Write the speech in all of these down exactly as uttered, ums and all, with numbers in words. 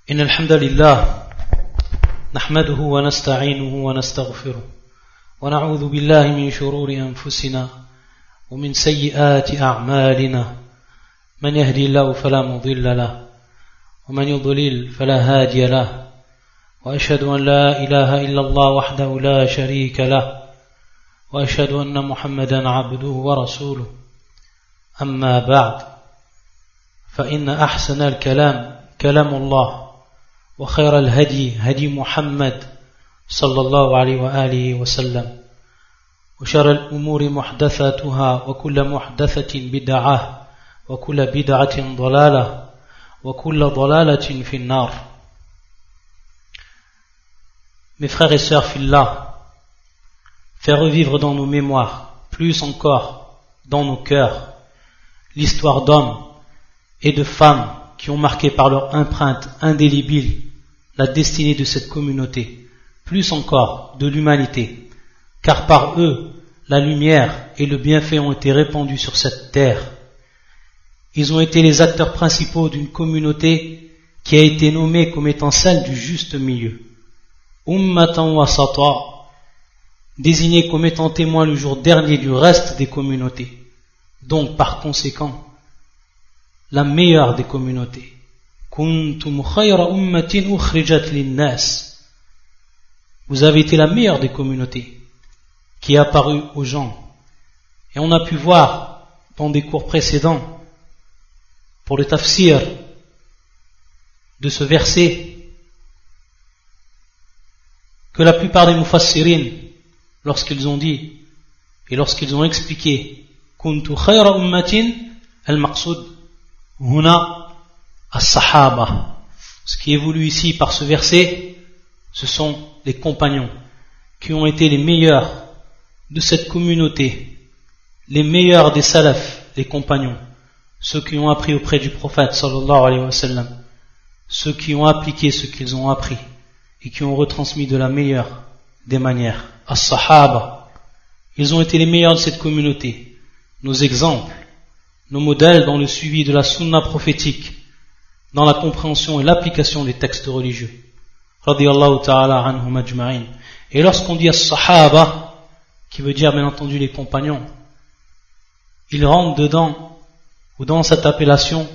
إن الحمد لله نحمده ونستعينه ونستغفره ونعوذ بالله من شرور أنفسنا ومن سيئات أعمالنا من يهدي الله فلا مضل له ومن يضلل فلا هادي له وأشهد أن لا إله إلا الله وحده لا شريك له وأشهد أن محمدا عبده ورسوله أما بعد فإن أحسن الكلام كلام الله وخير الهدي هدي محمد صلى الله عليه وآله وسلم وشر الأمور محدثاتها وكل محدثة بدعة وكل بدعة ضلالة وكل ضلالة في النار. Mes frères et sœurs fillah, faire revivre dans nos mémoires, plus encore dans nos cœurs, l'histoire d'hommes et de femmes qui ont marqué par leur empreinte indélébile la destinée de cette communauté, plus encore de l'humanité, car par eux, la lumière et le bienfait ont été répandus sur cette terre. Ils ont été les acteurs principaux d'une communauté qui a été nommée comme étant celle du juste milieu. Ummatan wasata, désignée comme étant témoin le jour dernier du reste des communautés. Donc, par conséquent, la meilleure des communautés. Kuntum khayra ummatin ukhrijat linnas. Vous avez été la meilleure des communautés qui est apparue aux gens. Et on a pu voir dans des cours précédents, pour le tafsir de ce verset, que la plupart des mufassirin, lorsqu'ils ont dit et lorsqu'ils ont expliqué Kuntu khayra ummatin, al-maqsoud huna as-sahaba. Ce qui est voulu ici par ce verset, ce sont les compagnons qui ont été les meilleurs de cette communauté, les meilleurs des salafs, les compagnons, ceux qui ont appris auprès du prophète sallallahu alayhi wa sallam, ceux qui ont appliqué ce qu'ils ont appris et qui ont retransmis de la meilleure des manières. As-sahaba, ils ont été les meilleurs de cette communauté, nos exemples, nos modèles dans le suivi de la sunna prophétique, dans la compréhension et l'application des textes religieux. Radiyallahu ta'ala anhum ajma'in. Et lorsqu'on dit as-sahaba, qui veut dire bien entendu les compagnons, il rentre dedans, ou dans cette appellation,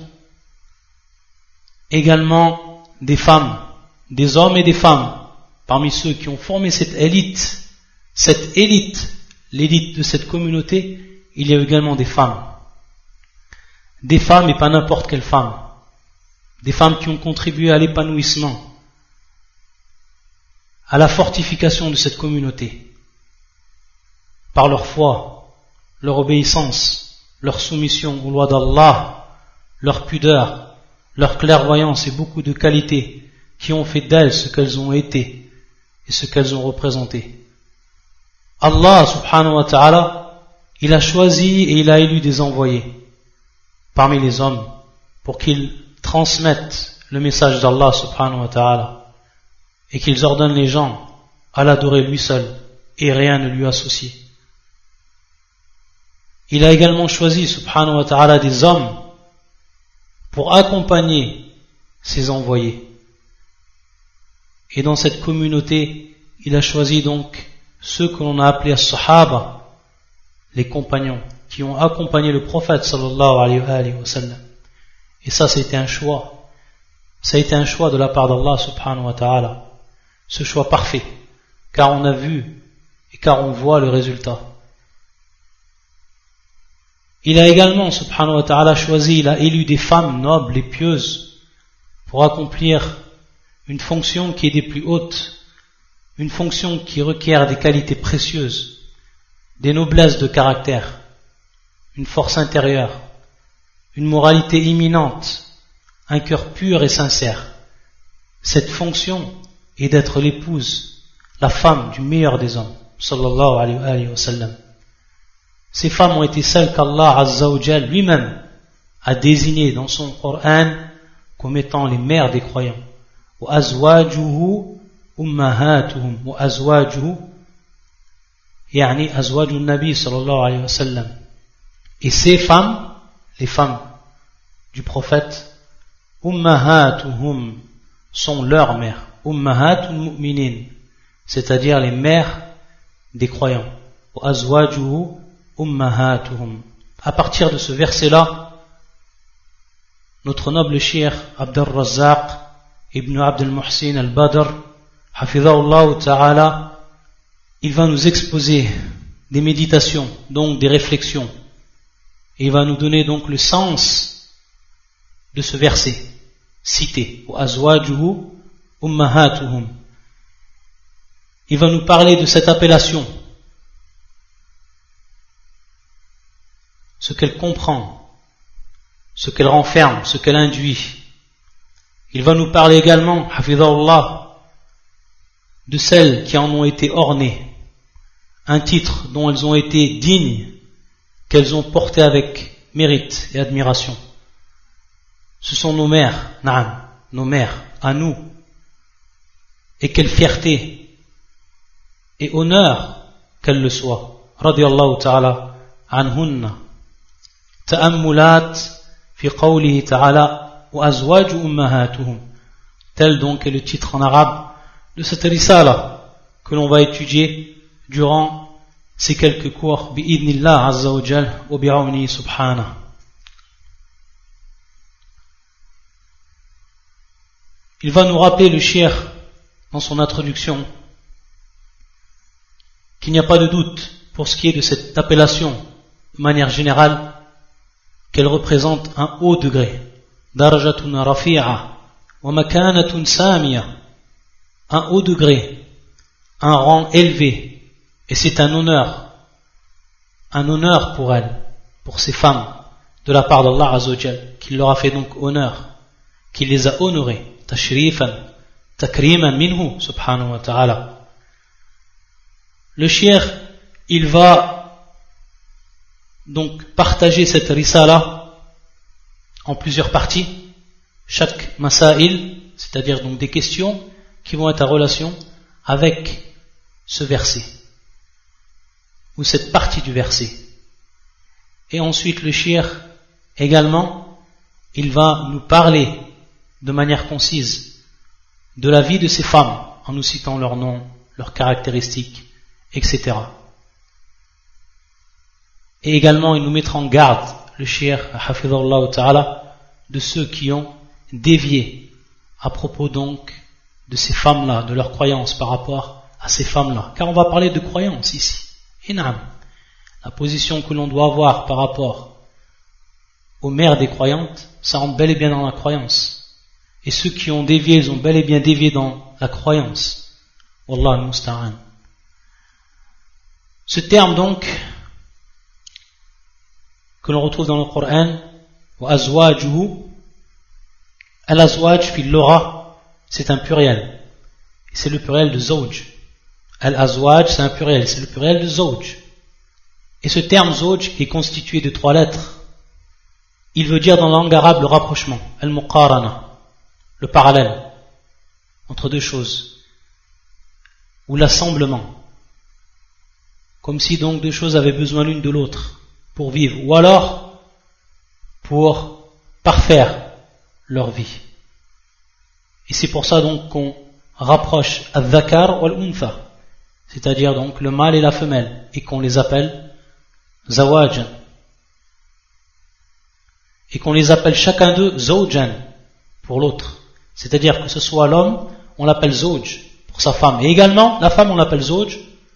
également des femmes, des hommes et des femmes, parmi ceux qui ont formé cette élite, cette élite, l'élite de cette communauté, il y a également des femmes. Des femmes et pas n'importe quelle femme. Des femmes qui ont contribué à l'épanouissement, à la fortification de cette communauté, par leur foi, leur obéissance, leur soumission aux lois d'Allah, leur pudeur, leur clairvoyance et beaucoup de qualités qui ont fait d'elles ce qu'elles ont été et ce qu'elles ont représenté. Allah subhanahu wa ta'ala, il a choisi et il a élu des envoyés parmi les hommes pour qu'ils transmettent le message d'Allah subhanahu wa ta'ala et qu'ils ordonnent les gens à l'adorer lui seul et rien ne lui associe. Il a également choisi subhanahu wa ta'ala des hommes pour accompagner ses envoyés. Et dans cette communauté, il a choisi donc ceux que l'on a appelés as-sahaba, les compagnons, qui ont accompagné le prophète sallallahu alayhi wa sallam. Et ça, c'était un choix. Ça a été un choix de la part d'Allah subhanahu wa ta'ala. Ce choix parfait. Car on a vu et car on voit le résultat. Il a également, subhanahu wa ta'ala, choisi, il a élu des femmes nobles et pieuses pour accomplir une fonction qui est des plus hautes, une fonction qui requiert des qualités précieuses, des noblesses de caractère, une force intérieure, une moralité imminente, un cœur pur et sincère. Cette fonction est d'être l'épouse, la femme du meilleur des hommes, sallallahu alayhi wa sallam. Ces femmes ont été celles qu'Allah Azza wa Jal lui-même a désignées dans son Coran comme étant les mères des croyants. Wa azwajuhu ummahatuhum wa azwajuhu yani azwajun nabi sallallahu alayhi wa sallam. Et ces femmes, les femmes du prophète, ummahatuhum, sont leurs mères. Ummahatul mu'minin, c'est-à-dire les mères des croyants. Wa azwajuhu ummahatuhum. À partir de ce verset-là, notre noble cheikh Abdul Razzaq ibn Abd al-Muhsin al-Badr, hafidhahullah ta'ala, il va nous exposer des méditations, donc des réflexions. Et il va nous donner donc le sens de ce verset cité. Wa azwajuhu ummahatuhum. Il va nous parler de cette appellation, ce qu'elle comprend, ce qu'elle renferme, ce qu'elle induit. Il va nous parler également, hafidhahullah, de celles qui en ont été ornées, un titre dont elles ont été dignes, qu'elles ont porté avec mérite et admiration. Ce sont nos mères, na'am, nos mères, à nous. Et quelle fierté et honneur qu'elles le soient. Radiyallahu ta'ala anhunna. Ta'ammulat fi qawlihi ta'ala wa azwaju ummahatuhum. Tel donc est le titre en arabe de cette risala que l'on va étudier durant ces quelques cours bi'idnillah azza wa jal wa bi'awni subhanahu. Il va nous rappeler le cheikh dans son introduction qu'il n'y a pas de doute pour ce qui est de cette appellation de manière générale qu'elle représente un haut degré, darajatun rafi'a wa makanatun samiya, un haut degré, un rang élevé, et c'est un honneur, un honneur pour elles, pour ces femmes, de la part d'Allah Azza wa Jal, qui leur a fait donc honneur, qui les a honorées, tashrifan, takriman minhu, subhanahu wa ta'ala. Le cheikh, il va donc partager cette risala en plusieurs parties, chaque masail, c'est-à-dire donc des questions qui vont être en relation avec ce verset, ou cette partie du verset. Et ensuite le cheikh également, il va nous parler de manière concise de la vie de ces femmes, en nous citant leurs noms, leurs caractéristiques, et cetera. Et également, il nous mettra en garde, le cheikh, hafidhahullah ta'ala, de ceux qui ont dévié à propos donc de ces femmes-là, de leurs croyances par rapport à ces femmes-là. Car on va parler de croyances ici. Et naam, la position que l'on doit avoir par rapport aux mères des croyantes, ça rentre bel et bien dans la croyance. Et ceux qui ont dévié, ils ont bel et bien dévié dans la croyance. Wallah al-musta'an. Ce terme donc, que l'on retrouve dans le Coran, wa azwajuhu, al-azwaj fil lugha, c'est un pluriel. C'est le pluriel de zawj. Al-azwaj, c'est un pluriel, c'est le pluriel de zawj. Et ce terme zawj est constitué de trois lettres. Il veut dire dans la langue arabe le rapprochement, al-muqarana, le parallèle entre deux choses, ou l'assemblement, comme si donc deux choses avaient besoin l'une de l'autre pour vivre, ou alors pour parfaire leur vie. Et c'est pour ça donc qu'on rapproche al-dhakar wal-untha, c'est-à-dire donc le mâle et la femelle, et qu'on les appelle zawajan, et qu'on les appelle chacun d'eux zawjan pour l'autre. C'est-à-dire que ce soit l'homme, on l'appelle zawj pour sa femme, et également la femme on l'appelle zawj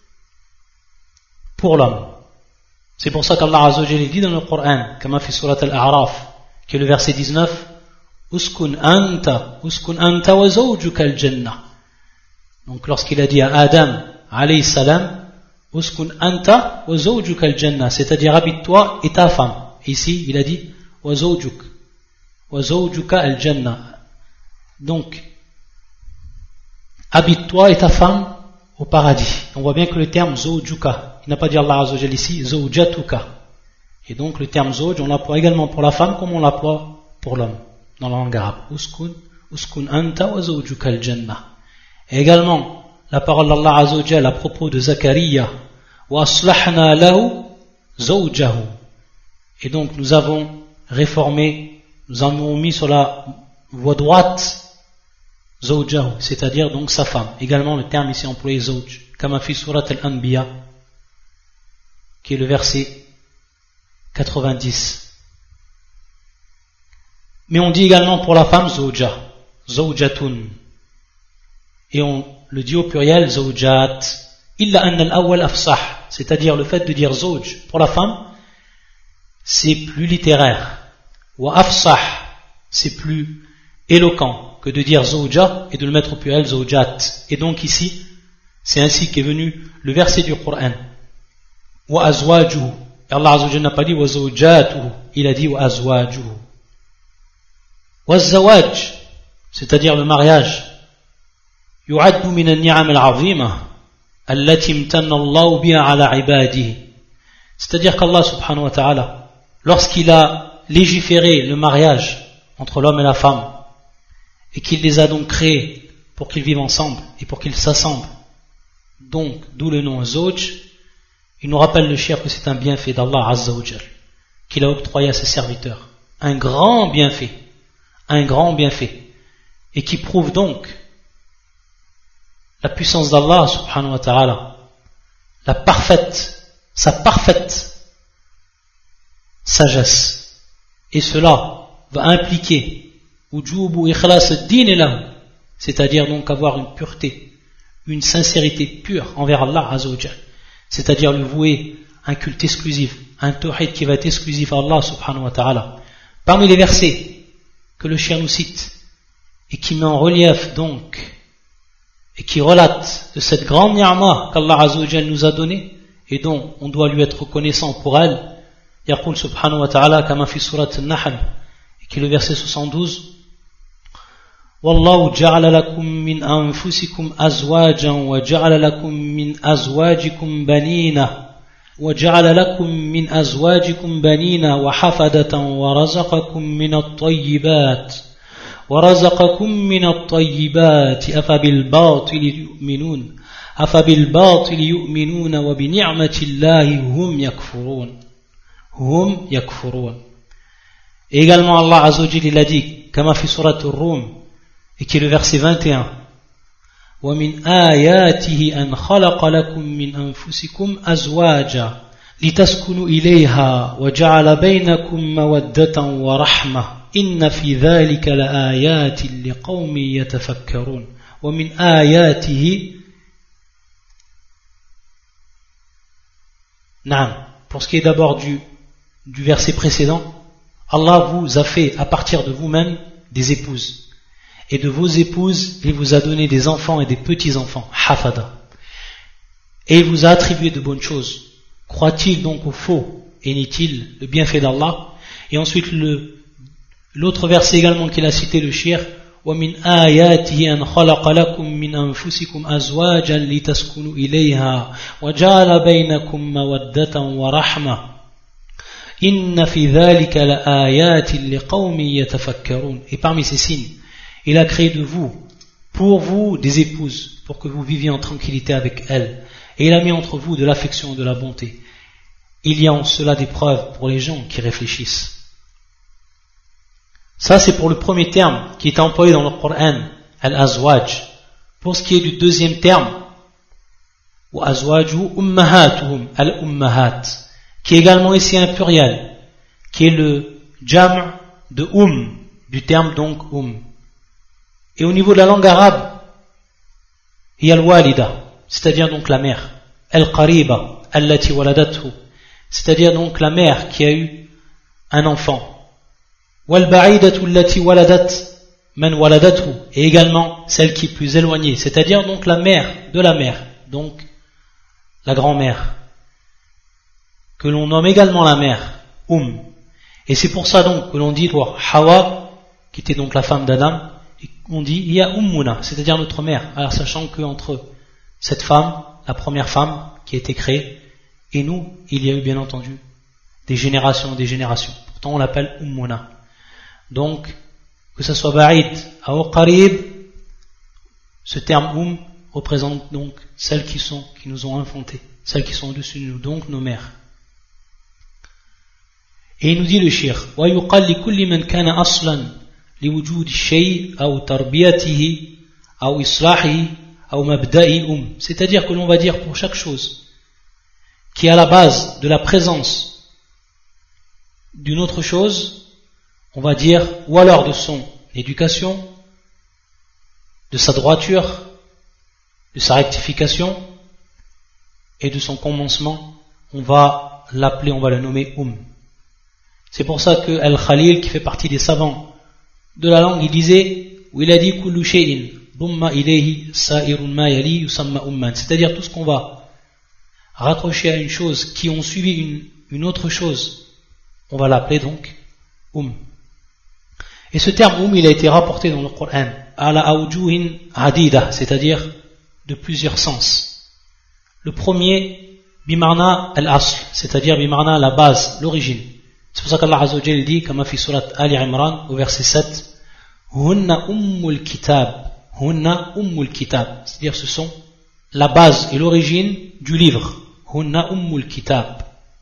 pour l'homme. C'est pour ça qu'Allah Azza wa Jalla dit dans le Coran, comme fi surat al-A'raf, qui est le verset dix-neuf, uskun anta, uskun anta wa zawjuka al-jannah. Donc lorsqu'il a dit à Adam alayhi salam, uskun anta wa zawjuka al-jannah, c'est-à-dire habite-toi et ta femme. Et ici il a dit wa zawjuk, wa zawjuka al-jannah. Donc habite-toi et ta femme au paradis. On voit bien que le terme zawjuka, il n'a pas dit Allah Azza wa Jalla ici zawjatuka. Et donc le terme zawj, on l'emploie également pour la femme comme on l'emploie pour l'homme dans la langue arabe. Uskun, uskun anta wa zawjuka al-jannah. Et également la parole d'Allah Azza wa Jalla à propos de Zakaria, wa aslahna lahu zawjahu. Et donc nous avons réformé, nous avons mis sur la voie droite zawjahu, c'est-à-dire donc sa femme. Également le terme ici employé zawj, kama fi surat al-Anbiya, qui est le verset quatre-vingt-dix. Mais on dit également pour la femme zawja, zawjatun, et on le dit au pluriel zawjat, illa anna al-awwal afsah, c'est-à-dire le fait de dire zawj pour la femme, c'est plus littéraire, wa afsah, c'est plus éloquent que de dire zawja et de le mettre au pluriel zawjat. Et donc ici, c'est ainsi qu'est venu le verset du Coran, wa azwajuhu. Allah Azza wa Jalla n'a pas dit wa zawjatuhu, il a dit wa azwajuhu. Wa zawaj, c'est-à-dire le mariage, yu'addu min an-ni'am al-'azima allati imtanna Allah biha 'ala 'ibadihi. C'est-à-dire qu'Allah subhanahu wa ta'ala, lorsqu'il a légiféré le mariage entre l'homme et la femme, et qu'il les a donc créés pour qu'ils vivent ensemble et pour qu'ils s'assemblent, donc d'où le nom zawj, il nous rappelle le shir que c'est un bienfait d'Allah Azza wa Jal qu'il a octroyé à ses serviteurs, un grand bienfait, un grand bienfait, et qui prouve donc la puissance d'Allah subhanahu wa ta'ala, la parfaite, sa parfaite sagesse. Et cela va impliquer wujubu ikhlas ad-din lahu, c'est-à-dire donc avoir une pureté, une sincérité pure envers Allah Azza wa Jal, c'est-à-dire le vouer un culte exclusif, un tawhid qui va être exclusif à Allah subhanahu wa ta'ala. Parmi les versets que le chien nous cite et qui met en relief donc et qui relate de cette grande ni'ma qu'Allah Azza wa Jal nous a donnée et dont on doit lui être reconnaissant pour elle, yaqul subhanahu wa ta'ala kama fi surat an-Nahl, qui est le verset soixante-douze, Wallahu ja'ala lakum min anfusikum azwajan wa ja'ala lakum min azwajikum banina wa ja'ala lakum min azwajikum banina wa hafadatan wa razaqakum min at-tayyibat wa razaqakum min at-tayyibat afa bil batil yu'minun afa bil batil yu'minuna wa bi ni'mati Allahi hum yakfurun hum yakfurun. Et également Allah Azza wa Jalla il a dit kama fi surat ar-Rum, et qui est le verset vingt et un, wa min ayatihi an khalaqa lakum min anfusikum azwaja litaskunu ilayha wa ja'ala baynakum mawaddatan wa rahma inna fi dhalika la ayatin liqaumin yatafakkarun. Wa min ayatihi, Naam, pour ce qui est d'abord du, du verset précédent, Allah vous a fait à partir de vous-même des épouses. Et de vos épouses, il vous a donné des enfants et des petits-enfants, hafada. Et il vous a attribué de bonnes choses. Croit-il donc au faux et nie-t-il le bienfait d'Allah? Et ensuite le, l'autre verset également qu'il a cité, le shir, وَمِنْ آيَاتِهِ أَنْ خَلَقَ لَكُم مِّنْ أَنفُسِكُمْ أَزْوَاجًا لِتَسْكُنُوا إِلَيْهَا وَجَعَلَ بَيْنَكُم مَّوَدَّةً وَرَحْمَةً إِنَّ فِي ذَلِكَ لَآيَاتٍ لِقَوْمٍ يَتَفَكَّرُونَ. Et parmi ces signes, il a créé de vous, pour vous, des épouses, pour que vous viviez en tranquillité avec elles. Et il a mis entre vous de l'affection et de la bonté. Il y a en cela des preuves pour les gens qui réfléchissent. Ça, c'est pour le premier terme qui est employé dans le Coran, al-azwaj. Pour ce qui est du deuxième terme, wa azwaju ummahatuhum, al-ummahat, qui est également ici un pluriel, qui est le jam' de um, du terme donc um. Et au niveau de la langue arabe, il y a al-walida, c'est-à-dire donc la mère, al-qariba, allati waladathu, c'est-à-dire donc la mère qui a eu un enfant, wal-ba'idatu allati waladat man waladathu, et également celle qui est plus éloignée, c'est-à-dire donc la mère de la mère, donc la grand-mère, que l'on nomme également la mère, um. Et c'est pour ça donc que l'on dit pour Hawa, qui était donc la femme d'Adam, on dit il y a ummuna, c'est-à-dire notre mère. Alors sachant qu'entre cette femme, la première femme qui a été créée, et nous, il y a eu bien entendu des générations et des générations. Pourtant on l'appelle ummuna. Donc, que ce soit ba'id ou qarib, ce terme um représente donc celles qui sont, qui nous ont enfantés, celles qui sont au-dessus de nous, donc nos mères. Et il nous dit le shir, wa yuqal li kulli man kana aslan لوجود الشيء أو تربيته ou islahi, ou mabda'i um. C'est-à-dire que l'on va dire pour chaque chose qui est à la base de la présence d'une autre chose, on va dire, ou alors de son éducation, de sa droiture, de sa rectification et de son commencement, on va l'appeler, on va le nommer um. C'est pour ça que Al-Khalil, qui fait partie des savants de la langue, il disait, où il a dit kullu shay'in dumma ilayhi sa'irun ma yali yusamma umman, c'est-à-dire tout ce qu'on va raccrocher à une chose qui ont suivi une, une autre chose, on va l'appeler donc um. Et ce terme um, il a été rapporté dans le Coran ala awjuhin adida, c'est-à-dire de plusieurs sens. Le premier, bimarna al-asl, c'est-à-dire bimarna la base, l'origine. C'est pour ça qu'Allah Azza wa Jalla dit, comme fi surat Ali Imran, au verset sept, hunna ummul kitab, hunna ummul kitab, c'est-à-dire ce sont la base et l'origine du livre. Hunna ummul kitab.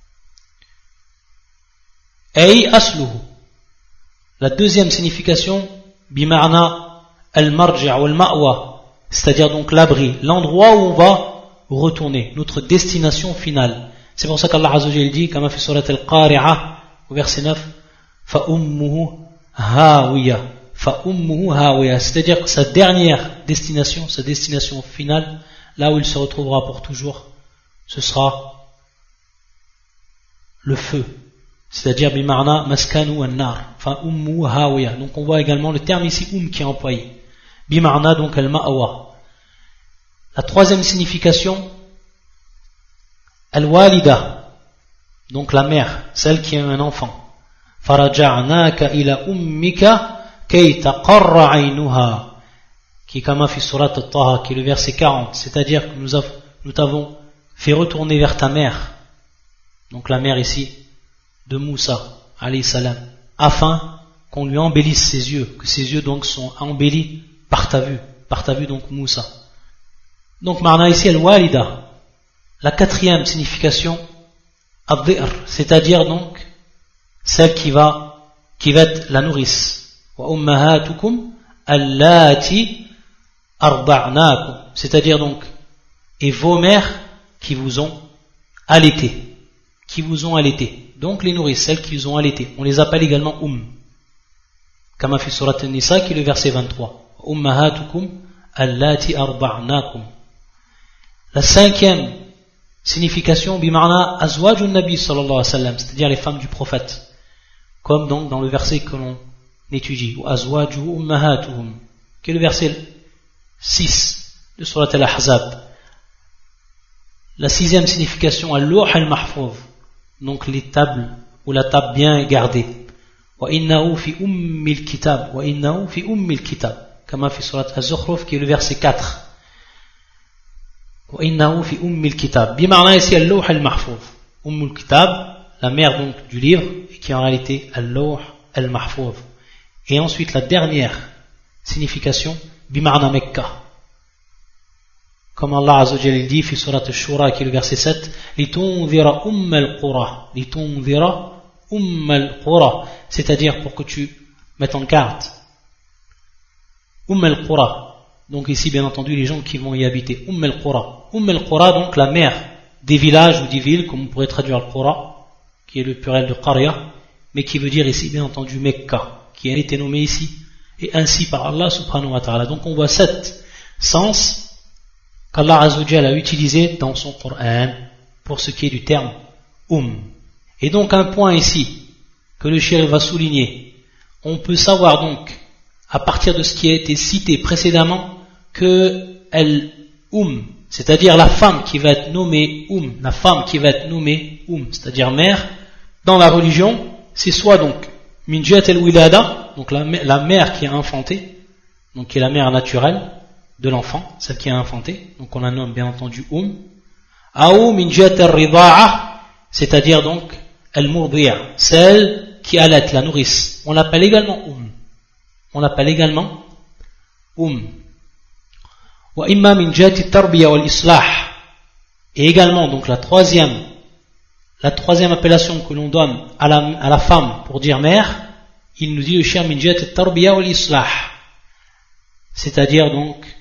Ay asluhu. La deuxième signification, bimarna al-marji' ou al-ma'wa, c'est-à-dire donc l'abri, l'endroit où on va retourner, notre destination finale. C'est pour ça qu'Allah Azza wa Jalla dit, comme fi surat al-Qari'ah, au verset neuf, fa ummuhu hawiya, fa ummuhu hawiya, c'est-à-dire que sa dernière destination, sa destination finale, là où il se retrouvera pour toujours, ce sera le feu, c'est-à-dire bimarna maskanu an-nar, fa ummuhu hawiya. Donc on voit également le terme ici um qui est employé, bimarna donc al-ma'wa. La troisième signification, al-walida, donc la mère, celle qui a un enfant. Faraja'naka ila ummika kay taqarra 'aynuha, qui est comme fi surat at-Taha, qui est le verset quarante, c'est-à-dire que nous, nous t'avons fait retourner vers ta mère, donc la mère ici de Moussa alayhi salam, afin qu'on lui embellisse ses yeux, que ses yeux donc sont embellis par ta vue, par ta vue donc Moussa. Donc marna ici al-walida. La quatrième signification, ad-dhi'r, c'est-à-dire donc celle qui va qui va être la nourrice. Wa ummahatukum allati arda'nakum, c'est-à-dire donc et vos mères qui vous ont allaité, qui vous ont allaité. Donc les nourrices, celles qui vous ont allaité, on les appelle également um. Comme fi surat an-Nisa qui est le verset vingt-trois. Ummahatukum allati arda'nakum. La cinquième signification, bimarna azwajun nabi sallallahu alayhi wa sallam, c'est-à-dire les femmes du prophète, comme donc dans le verset que l'on étudie, ou azwaju ummahatuhum, qui est le verset six de surat al-Ahzab. La sixième signification, al-lawh al-mahfouz, donc les tables ou la table bien gardée. Wa innahu fi ummil kitab, wa innahu fi ummil kitab, comme fi surat az-Zukhruf qui est le verset quatre. وإنه في أم الكتاب بمعنى ici اللوح المحفوظ أم الكتاب, la mère donc du livre, et qui est en réalité اللوح المحفوظ. Et ensuite la dernière signification بمعنى مكة, comme Allah Azza wa Jalla dit في سورة الشورى qui est le verset sept, لتنذر أم القرى, لتنذر أم القرى, c'est-à-dire pour que tu mettes en garde أم القرى. Donc ici, bien entendu, les gens qui vont y habiter. Umm al-Qura. Umm al-Qura, donc la mère des villages ou des villes, comme on pourrait traduire le Qura, qui est le pluriel de Qarya, mais qui veut dire ici, bien entendu, Mecca, qui a été nommé ici, et ainsi par Allah subhanahu wa ta'ala. Donc on voit sept sens qu'Allah Azza wa Jalla a utilisé dans son Coran pour ce qui est du terme Umm. Et donc un point ici, que le cheikh va souligner, on peut savoir donc, à partir de ce qui a été cité précédemment, que elle um, c'est-à-dire la femme qui va être nommée um, la femme qui va être nommée um, c'est-à-dire mère, dans la religion, c'est soit donc min jat al-wilada, donc la, la mère qui a enfanté, donc qui est la mère naturelle de l'enfant, celle qui a enfanté, donc on la nomme bien entendu um, ou min jat al-rida'a, c'est-à-dire donc al-murdi'a, celle qui allait la nourrice, on l'appelle également um. On l'appelle également um. Wa imma min jati tarbiya wal islah. Et également, donc la troisième, la troisième appellation que l'on donne à la, à la femme pour dire mère, il nous dit le cheikh min jati tarbiya wal islah, c'est-à-dire donc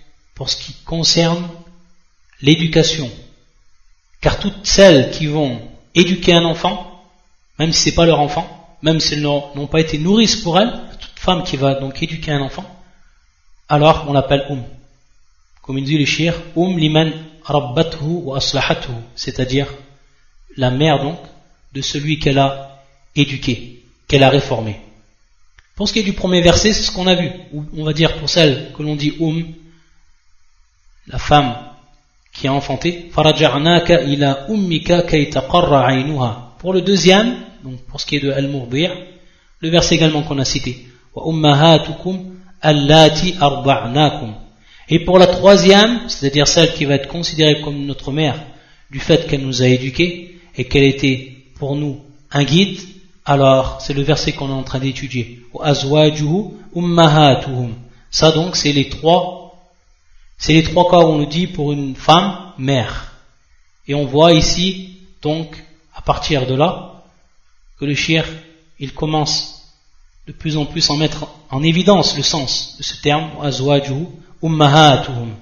pour ce qui concerne l'éducation. Car toutes celles qui vont éduquer un enfant, même si ce n'est pas leur enfant, même si elles n'ont pas été nourrices pour elles, toute femme qui va donc éduquer un enfant, alors on l'appelle Umm. Comme il dit le shir, Umm liman rabbathu wa aslahathu, c'est-à-dire la mère donc de celui qu'elle a éduqué, qu'elle a réformé. Pour ce qui est du premier verset, c'est ce qu'on a vu. On va dire pour celle que l'on dit Umm, la femme qui a enfanté, faraja'naka ila ummika kay taqarra 'aynuha. Pour le deuxième, donc pour ce qui est de al-murdi', le verset également qu'on a cité, wa ummahatukum allati arda'nakum. Et pour la troisième, c'est-à-dire celle qui va être considérée comme notre mère du fait qu'elle nous a éduqués et qu'elle était pour nous un guide, alors c'est le verset qu'on est en train d'étudier. Wa azwajuhu ummahatuhum. Ça donc c'est les trois, c'est les trois cas où on nous dit pour une femme mère. Et on voit ici donc à partir de là que le shir il commence de plus en plus à mettre en évidence le sens de ce terme azwajuhu ummahatuhum.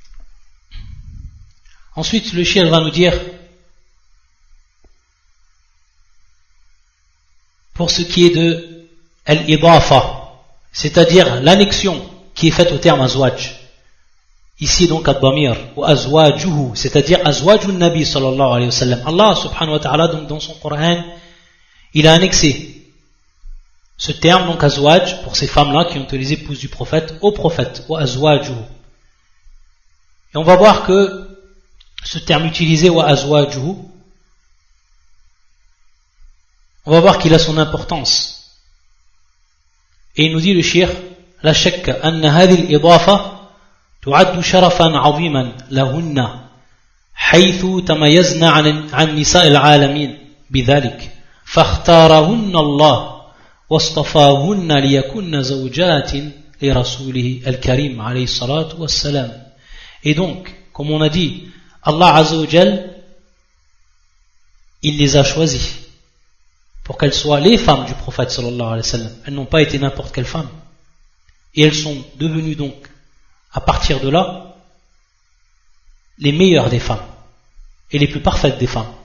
Ensuite le shir va nous dire pour ce qui est de al-idafa, c'est-à-dire l'annexion qui est faite au terme azwaj. Ici donc ad-damir ou azwajuhu, c'est-à-dire azwajun nabi sallallahu alayhi wa sallam. Allah subhanahu wa ta'ala donc dans son Coran, il a annexé ce terme donc azwaj pour ces femmes-là qui ont été les épouses du prophète au prophète, ou azwajuhu. Et on va voir que ce terme utilisé wa azwajuhu, on va voir qu'il a son importance. Et il nous dit le shir, la shakka anna hadhihi al-idafa تعد شرفا عظيما لهن حيث تميزن عن عن نساء العالمين بذلك فاختارهن الله واصطفاهن ليكن زوجات لرسوله الكريم عليه الصلاة والسلام. Et donc, comme on a dit, Allah Azza wa Jal, il les a choisis pour qu'elles soient les femmes du prophète sallallahu alayhi wa sallam. Elles n'ont pas été n'importe quelle femme. Et elles sont devenues donc à partir de là, les meilleures des femmes, et les plus parfaites des femmes,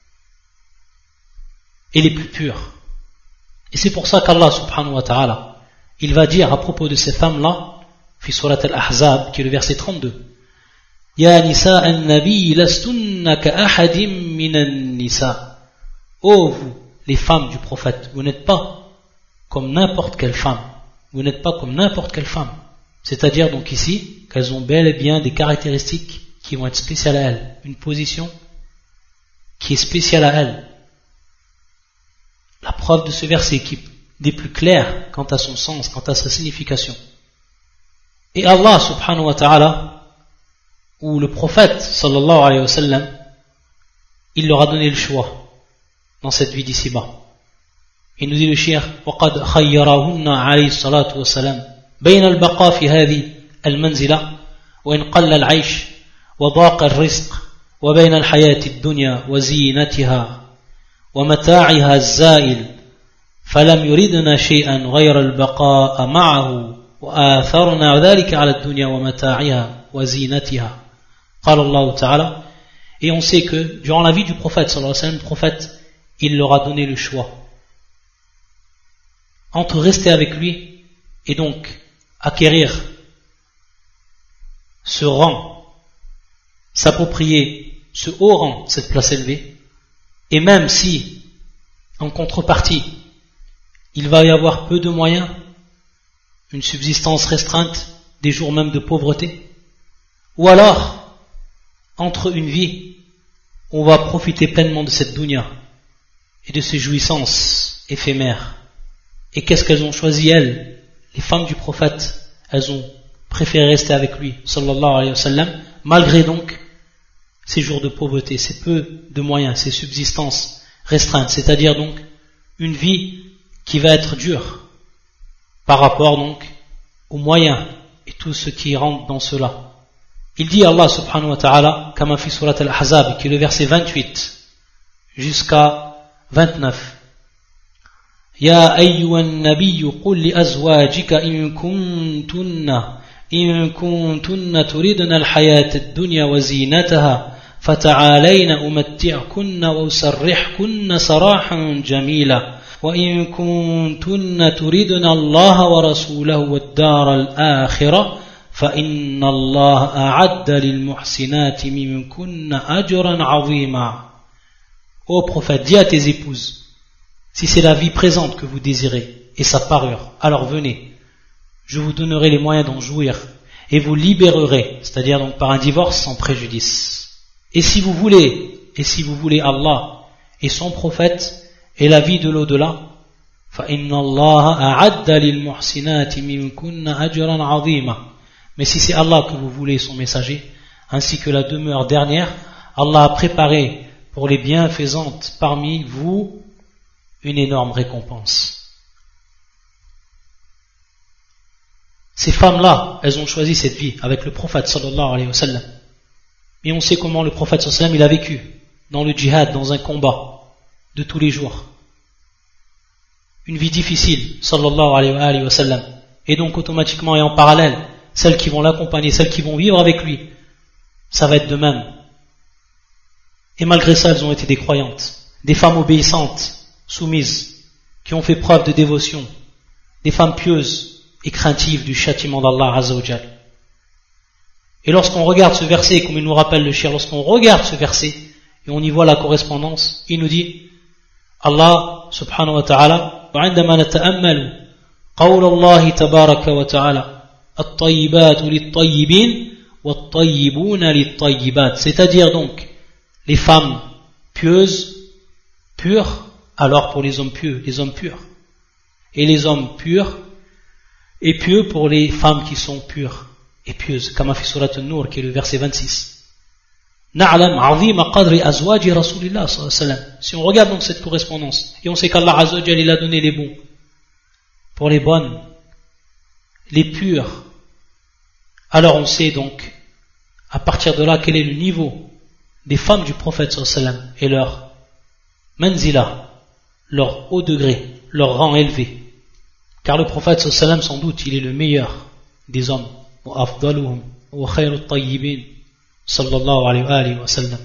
et les plus pures. Et c'est pour ça qu'Allah subhanahu wa ta'ala, il va dire à propos de ces femmes-là, fi surat al-Ahzab, qui est le verset trente-deux, Ya nisa an-nabi lastunna ka ahadim minan nisa. Ô vous, les femmes du prophète, vous n'êtes pas comme n'importe quelle femme, vous n'êtes pas comme n'importe quelle femme. C'est-à-dire donc ici qu'elles ont bel et bien des caractéristiques qui vont être spéciales à elles, une position qui est spéciale à elles. La preuve de ce verset qui est des plus clairs quant à son sens, quant à sa signification. Et Allah subhanahu wa ta'ala, ou le prophète sallallahu alayhi wa sallam, il leur a donné le choix dans cette vie d'ici-bas. Il nous dit le shir, وَقَدْ خَيَّرَهُنَّ عَلَيْهِ الصَّلَاةُ وَالسَّلَامُ بين البقاء في هذه المنزلة وإن قل العيش وضاق الرزق وبين الحياة الدنيا وزينتها ومتاعها الزائل فلم يردنا شيئا غير البقاء معه وآثرنا ذلك على الدنيا ومتاعها وزينتها قال الله تعالى. Et on sait que durant la vie du prophète sallallahu alayhi wa sallam, le prophète il leur a donné le choix entre rester avec lui et donc acquérir ce rang, s'approprier ce haut rang, cette place élevée, et même si, en contrepartie, il va y avoir peu de moyens, une subsistance restreinte, des jours même de pauvreté, ou alors, entre une vie où on va profiter pleinement de cette dunya et de ses jouissances éphémères. Et qu'est-ce qu'elles ont choisi, elles? Les femmes du prophète, elles ont préféré rester avec lui, sallallahu alayhi wa sallam, malgré donc ces jours de pauvreté, ces peu de moyens, ces subsistances restreintes, c'est-à-dire donc une vie qui va être dure par rapport donc aux moyens et tout ce qui rentre dans cela. Il dit Allah subhanahu wa ta'ala, comme fi surat al-Ahzab, qui est le verset vingt-huit jusqu'à vingt-neuf. يا أيها النبي قل لأزواجك إن كنتن إن كنتن تريدن الحياة الدنيا وزينتها فتعالين أمتعكن وأسرحكن سراحا جميلا وإن كنتن تريدن الله ورسوله والدار الآخرة فإن الله أعد للمحسنات منكن أجرا عظيما. Ô prophète, dis à tes épouses, si c'est la vie présente que vous désirez et sa parure, alors venez, je vous donnerai les moyens d'en jouir et vous libérerez, c'est-à-dire donc par un divorce sans préjudice. Et si vous voulez, et si vous voulez Allah et son prophète et la vie de l'au-delà, فَإِنَّ اللَّهَ أَعَدَّ لِلْمُحْسِنَاتِ مِنْكُنَّ أَجْرًا عَظِيمًا. Mais si c'est Allah que vous voulez, son messager, ainsi que la demeure dernière, Allah a préparé pour les bienfaisantes parmi vous une énorme récompense. Ces femmes-là, elles ont choisi cette vie avec le prophète sallallahu alayhi wa sallam. Et on sait comment le prophète sallallahu alayhi wa sallam il a vécu dans le djihad, dans un combat de tous les jours. Une vie difficile, sallallahu alayhi wa sallam. Et donc automatiquement et en parallèle, celles qui vont l'accompagner, celles qui vont vivre avec lui, ça va être de même. Et malgré ça, elles ont été des croyantes, des femmes obéissantes, soumises, qui ont fait preuve de dévotion, des femmes pieuses et craintives du châtiment d'Allah Azza wa Jal. Et lorsqu'on regarde ce verset, comme il nous rappelle le shir, lorsqu'on regarde ce verset, et on y voit la correspondance, il nous dit, Allah subhanahu wa ta'ala, وعندما نتأمل قول الله تبارك وتعالى الطيبات للطيبين والطيبون للطيبات, c'est-à-dire donc les femmes pieuses, pures, alors pour les hommes pieux, les hommes purs, et les hommes purs, et pieux pour les femmes qui sont pures et pieuses, comme a fait surat An-Nur, qui est le verset vingt-six. نعلم عظيم قدر أزواج رسول الله صلى الله عليه وسلم. Si on regarde donc cette correspondance, et on sait qu'Allah Azza wa Jal, il a donné les bons, pour les bonnes, les pures, alors on sait donc, à partir de là, quel est le niveau des femmes du prophète sallallahu alayhi wa sallam, et leur manzila, leur haut degré, leur rang élevé. Car le prophète sallallahu alayhi wa sallam, sans doute, il est le meilleur des hommes. Wa afdaluhum wa khayru tayyibin sallallahu alayhi wa sallam.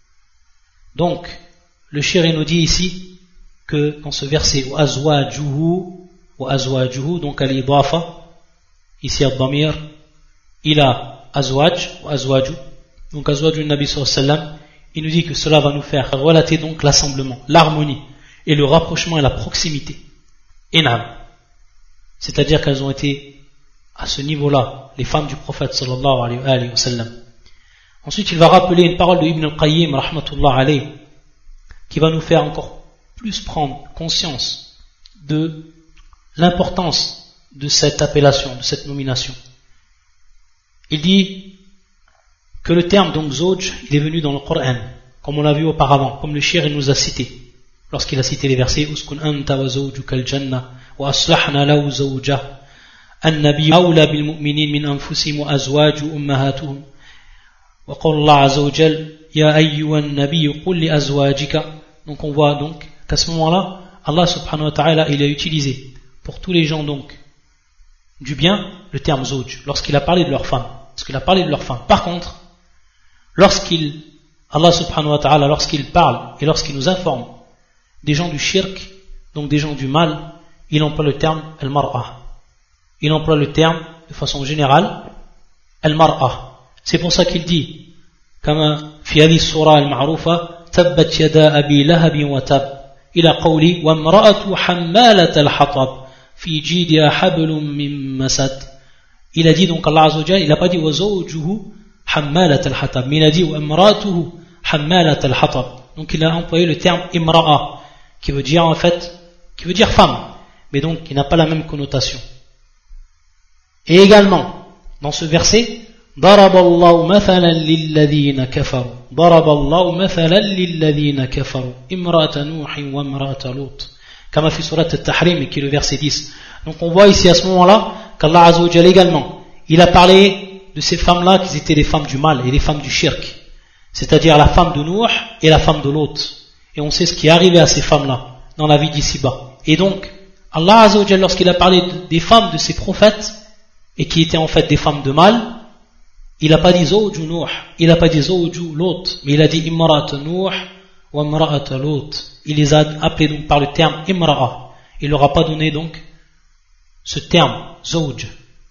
Donc, le shir nous dit ici que dans ce verset, wa azwajuhu, wa azwajuhu, donc à l'idafa, ici al-damir, il a azwaj, wa azwaju, donc azwaju nabi sallallahu alayhi wa sallam, il nous dit que cela va nous faire relater donc l'assemblement, l'harmonie, et le rapprochement et la proximité. Inam. C'est-à-dire qu'elles ont été à ce niveau-là, les femmes du prophète sallallahu alayhi wa sallam. Ensuite, il va rappeler une parole de Ibn al-Qayyim, rahmatullah alayh, qui va nous faire encore plus prendre conscience de l'importance de cette appellation, de cette nomination. Il dit que le terme donc Zawj, il est venu dans le Coran, comme on l'a vu auparavant, comme le shir il nous a cité, lorsqu'il a cité les versets Uskun anta wa zawjuka al-jannah wa aslahna lahu zawjah an-nabi awla bil mu'minin min anfusihim wa azwaju ummahatuhum wa qala Allah azza wa jal ya ayyuhan nabiy qul li azwajika. Donc on voit donc qu'à ce moment-là, Allah subhanahu wa ta'ala il a utilisé pour tous les gens donc du bien le terme Zawj lorsqu'il a parlé de leurs femmes, lorsqu'il a parlé de leurs femmes. Par contre, lorsqu'il Allah subhanahu wa ta'ala lorsqu'il parle et lorsqu'il nous informe des gens du shirk, donc des gens du mal, il emploie le terme al-mar'a. Il emploie le terme de façon générale al-mar'a. C'est pour ça qu'il dit comme fi hadhihi surah al-ma'rufa tabbat yada abi lahab wa tab ila qawli wa imra'atu hammalat al-hatab fi jidha hablum min masad. Il a dit donc Allah azza wa jalla, il n'a pas dit wa zawjuhu hammalat al-hatab, mais il a dit wa imra'atuhu hammalat al-hatab. Donc il a employé le terme imra'a, qui veut dire en fait, qui veut dire femme, mais donc qui n'a pas la même connotation. Et également, dans ce verset, ضرب الله مثلا للذين كفروا ضرب الله مثلا للذين كفروا امرأة نوح وامرأة لوط كما في سورة التحريم qui est le verset dix. Donc on voit ici à ce moment-là qu'Allah Azza wa Jalla également, il a parlé de ces femmes-là qui étaient les femmes du mal et les femmes du shirk, c'est-à-dire la femme de Nuh et la femme de Lot. Et on sait ce qui est arrivé à ces femmes-là dans la vie d'ici-bas. Et donc Allah Azza wa Jalla, lorsqu'il a parlé des femmes de ses prophètes, et qui étaient en fait des femmes de mâle, il n'a pas dit zawju Nuh, il n'a pas dit zawju Lot, mais il a dit imra'at Nuh wa imra'at Lot. Il les a appelés donc par le terme imra'a. Il leur a pas donné donc ce terme zawj.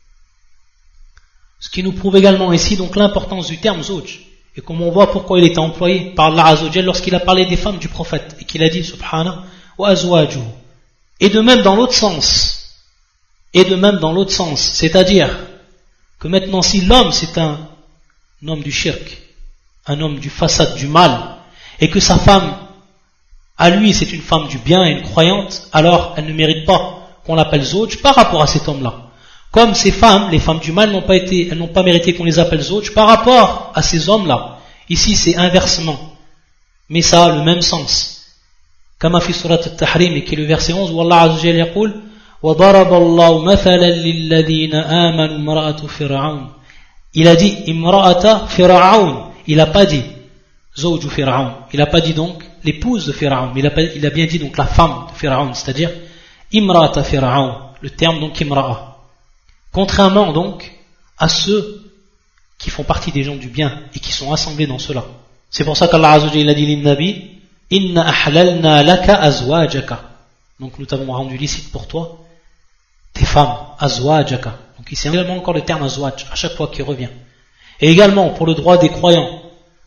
Ce qui nous prouve également ici donc l'importance du terme zawj. Et comme on voit pourquoi il était employé par Allah Azza wa Jalla lorsqu'il a parlé des femmes du prophète et qu'il a dit subhanahu wa azwajuhu. Et de même dans l'autre sens, et de même dans l'autre sens, c'est-à-dire que maintenant si l'homme c'est un, un homme du shirk, un homme du fasad, du mal, et que sa femme, à lui c'est une femme du bien et une croyante, alors elle ne mérite pas qu'on l'appelle zawj par rapport à cet homme-là. Comme ces femmes, les femmes du mal n'ont pas été, elles n'ont pas mérité qu'on les appelle zawj par rapport à ces hommes-là. Ici c'est inversement, mais ça a le même sens. Comme في سورة التحريم qui est le verset onze où Allah Azza wa Jalla يقول وضرب الله مثلا للذين آمنوا امرأة فرعون. Il a dit imra'ata Fir'aun, il n'a pas dit zawju Fir'aun, il n'a pas dit donc l'épouse de Fir'aun, mais il a, pas, il a bien dit donc la femme de Fir'aun, c'est-à-dire imra'ata Fir'aun, le terme donc imra'a. Contrairement donc à ceux qui font partie des gens du bien et qui sont assemblés dans cela. C'est pour ça qu'Allah Azza wa Jalla a dit l'Innabi Inna ahlalna laka azwajaka. Donc nous t'avons rendu licite pour toi tes femmes, azwajaka. Donc ici également encore le terme azwaj à chaque fois qu'il revient. Et également pour le droit des croyants,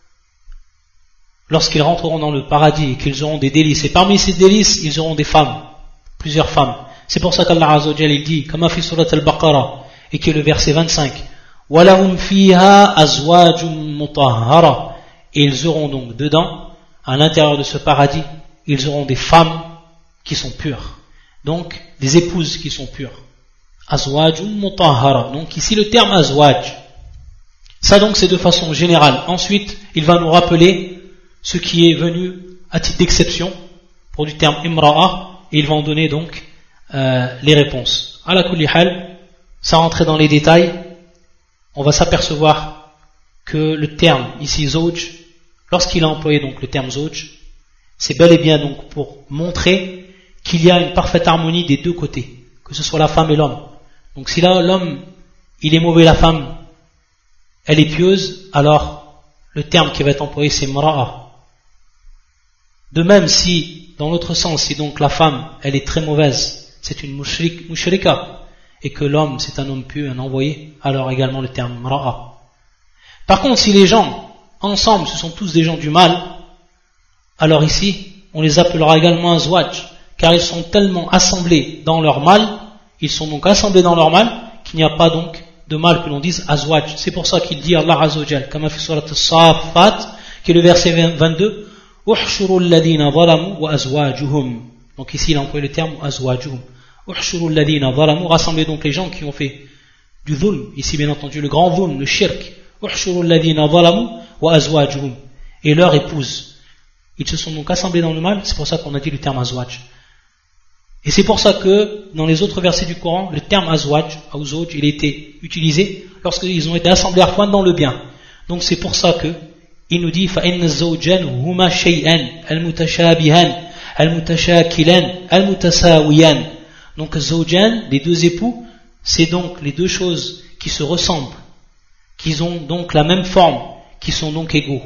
lorsqu'ils rentreront dans le paradis et qu'ils auront des délices, et parmi ces délices ils auront des femmes, plusieurs femmes. C'est pour ça qu'Allah Azza wa Jalla il dit, comme fi surat al-Baqarah, et qui est le verset vingt-cinq, walahum fiha azwajum mutahhara. Et ils auront donc dedans, à l'intérieur de ce paradis, ils auront des femmes qui sont pures. Donc, des épouses qui sont pures. Azwajun mutahhara. Donc ici le terme azwaj. Ça donc c'est de façon générale. Ensuite, il va nous rappeler ce qui est venu à titre d'exception pour du terme imra'a, et il va en donner donc euh, les réponses. Ala kulli hal, sans rentrer dans les détails, on va s'apercevoir que le terme ici zawj, lorsqu'il a employé donc le terme zawj, c'est bel et bien donc pour montrer qu'il y a une parfaite harmonie des deux côtés, que ce soit la femme et l'homme. Donc si là l'homme il est mauvais, la femme elle est pieuse, alors le terme qui va être employé c'est mra'a. De même si dans l'autre sens, si donc la femme elle est très mauvaise, c'est une mushrik, mushrika, et que l'homme c'est un homme pieux, un envoyé, alors également le terme mra'a. Par contre si les gens ensemble ce sont tous des gens du mal, alors ici on les appellera également azwaj, car ils sont tellement assemblés dans leur mal, ils sont donc assemblés dans leur mal qu'il n'y a pas donc de mal que l'on dise azwaj. C'est pour ça qu'il dit Allah Azza wa Jalla, comme a fait surat as-Saffat, qui est le verset vingt-deux, uhshuru alladhina zalamu wa azwajuhum. Donc ici il a employé le terme azwajuhum. Uhshuru alladhina zalamu, rassembler donc les gens qui ont fait du dhulm, ici bien entendu le grand dhulm, le shirk. Uhshuru alladhina zalamu wa azwajuhum, et leur épouse. Ils se sont donc assemblés dans le mal, c'est pour ça qu'on a dit le terme azwaj. Et c'est pour ça que dans les autres versets du Coran, le terme azwaj, ou zawj, il a été utilisé lorsqu'ils ont été assemblés à fois dans le bien. Donc c'est pour ça que il nous dit فَإِنَّ الزَّوْجَانِ هُمَا شَيْئًا الْمُتَشَابِهَانِ الْمُتَشَاكِلَانِ الْمُتَسَاوِيَانِ. Donc zawjan, les deux époux, c'est donc les deux choses qui se ressemblent, qui ont donc la même forme, qui sont donc égaux.